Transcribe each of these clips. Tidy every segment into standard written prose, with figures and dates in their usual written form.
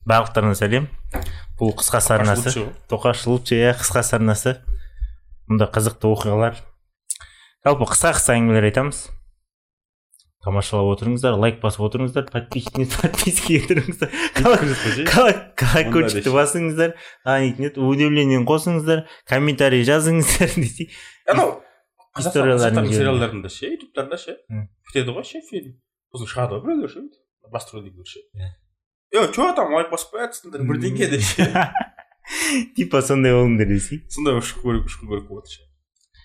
барлықтарына сәлем. Бұл қысқа сарнасы. Тоқаш лучше, қысқа сарнасы. Мұнда қызықты оқиғалар. Жалпы қысқа әңгімелер айтамыз. Тамашалап отырыңыздар, лайк басып отырыңыздар, подписка етіңіздер. Колокольчикті басыңыздар, удивлениені қосыңыздар, комментарий жазыңыздар десей. Қазақстан сериалдарында ше, ютубтарда ше, бітеді ғой ше фильм. Сосын шығады ғой біреулер ше, басты рөлдегілер ше. Чё там лайк басып қоятсыңдар бірдеңе де ше. Типа сондай болыңдар десей. Сондай шыққан көріп болады ше.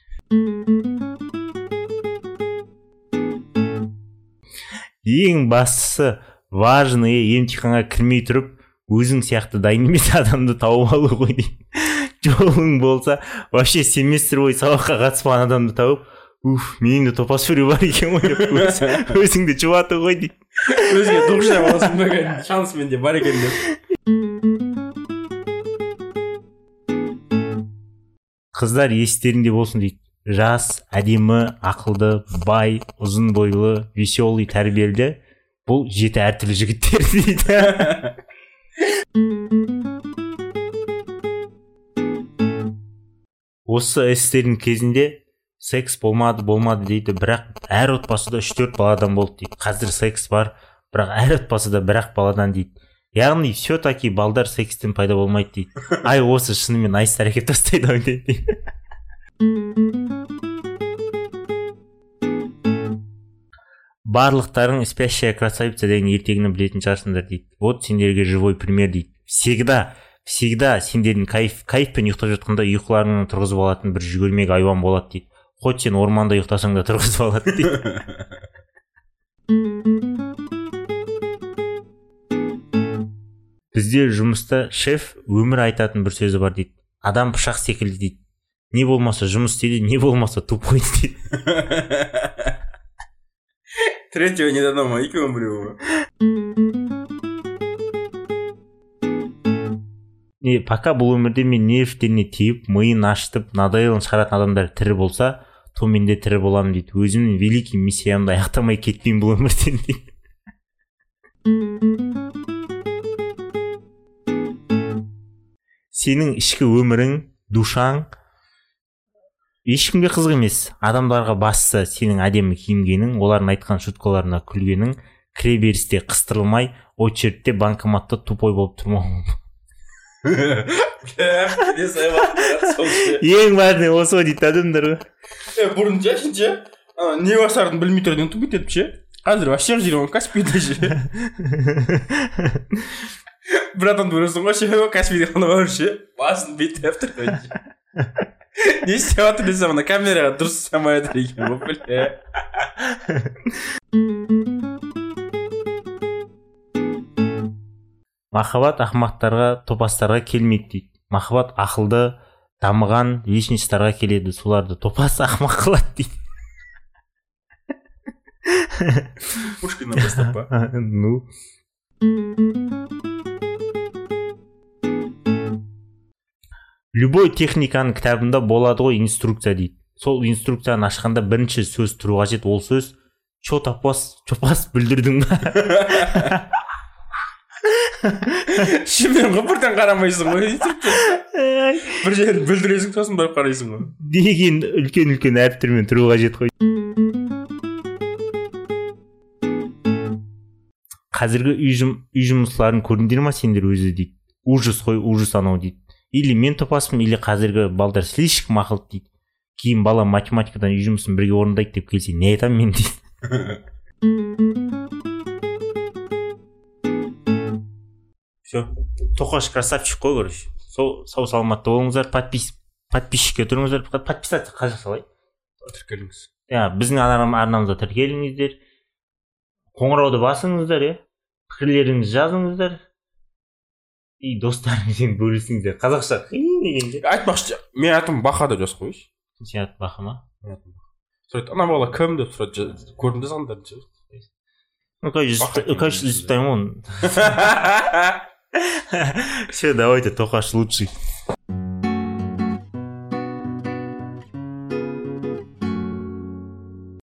Ең бастысы важный емтиханға кірмей тұрып, өзің сияқты дайын емес адамды тауып алу ғой дейін. Жолың болса, вообще семестр бойы сабаққа қатыспаған адамды тауып, менің де топас фури бар екен ғой деп, өзіңді жұбаты ғой дейін. Өзіңе дұғыштай боласың ба, шанс менде бар екен деп. Қыздар естерінде болсын дейді. Жас, әдемі, ақылды, бай, ұзын бойлы, веселый, тәрбиелі. Бұл 7 әртүрлі жігіттер дейді. Осы эстердің кезінде секс болмады дейді. Бірақ әр отбасыда 3-4 баладан болды дейді. Қазір секс бар, бірақ әр отбасыда бірақ баладан дейді. Яғни все-таки балдар секстен пайда болмайды дейді. Ай, осы шынымен айс әрекет тастайды дейді. Барлықтарың спящая красавица деген ертегіні білетін шығарсыңдар дейді. Вот сендерге живой пример дейді. Всегда сендердің кайфпен ұйықтап жатқанда ұйқыларыңнан тұрғызып алатын бір жүгірмек айуан болады дейді. Хоть сен орманда ұйықтасаң да тұрғызып алады дейді. Бізде жұмыста шеф өмір айтатын бір сөзі бар дейді. Адам пышақ секілді дейді. Не болмаса жұмыс істейді, не болмаса тупой дейді. Третьего не дано ма, екеуін біреуі. Пока бұл өмірде мен нервтеріне тиіп, миын ашытып, надоелін шығаратын адамдар тірі болса, то мен де тірі боламын дейді. Өзімнің великий миссиямды аяқтамай кетпеймін бұл өмірден дейді. Сенің ішкі өмірің, душаң, ешкімге қызық емес. Адамдарға басса сенің әдемі киінгенің, олардың айтқан шуткаларына күлгенің, кіре берісте қыстырылмай, очередьте банкоматта тупой болып тұрмауың. Ең бәріне осы дейді адамдар ғой. Бұрын жашынша не басарын білмей тұрдың тупит етіп ше. Қазір вообще жүрген Каспийде ше. Бір адамды көресің ғой ше, Каспийде қана бар ше, басын бейтіп тұрды. Не істеп жатыр десем, ана камераға дұрыс ұстамай жатыр екен бұл бля. Махаббат ақымақтарға, топастарға келмейді дейді. Махаббат ақылды, дамыған личностьтарға келеді, соларды топас ақымақ қылады дейді. Пушкина бастап па? Ну. Любой техниканың кітабында болады ғой инструкция дейді. Сол инструкцияны ашқанда бірінші сөз тұру қажет, ол сөз чо топас бүлдірдің ба? Шымен ғой бірден қарамайсың ғой. Бір жерін бүлдіресің, сосын барып қарайсың ғой. Деген үлкен әріптермен тұру қажет қой. Қазіргі үй жұмысларын көрдіңдер ма сендер өзі дейді. Ужас қой, ужас анау дейді. Или мен топаспын, или қазіргі балдар слишком ақылды дейді. Кейін бала математикадан үй жұмысын бірге орындайды деп келсе, не айтам мен дейді. Все, тоқаш красавчик қой, короче. Сау саламатты болыңыздар, подписчикке тұрыңыздар, подписаться қажа салай. Тіркеліңіз. Біздің арнамызда тіркеліңіздер. Қоңырауды басыңыздар, пікірлеріңізді жазыңыздар. И достарыңызбен бөлісіңіздер. Қазақша қиын дегенде. Айтпақшы, мен атым Баха деп жазып қойшы. Сен аты Баха ма? Сұрайды, ана бала кім деп сұрайды, көрдіңдер сандарын ше. Конечно, изучаем он. Все, давайте, Тохаш лучший.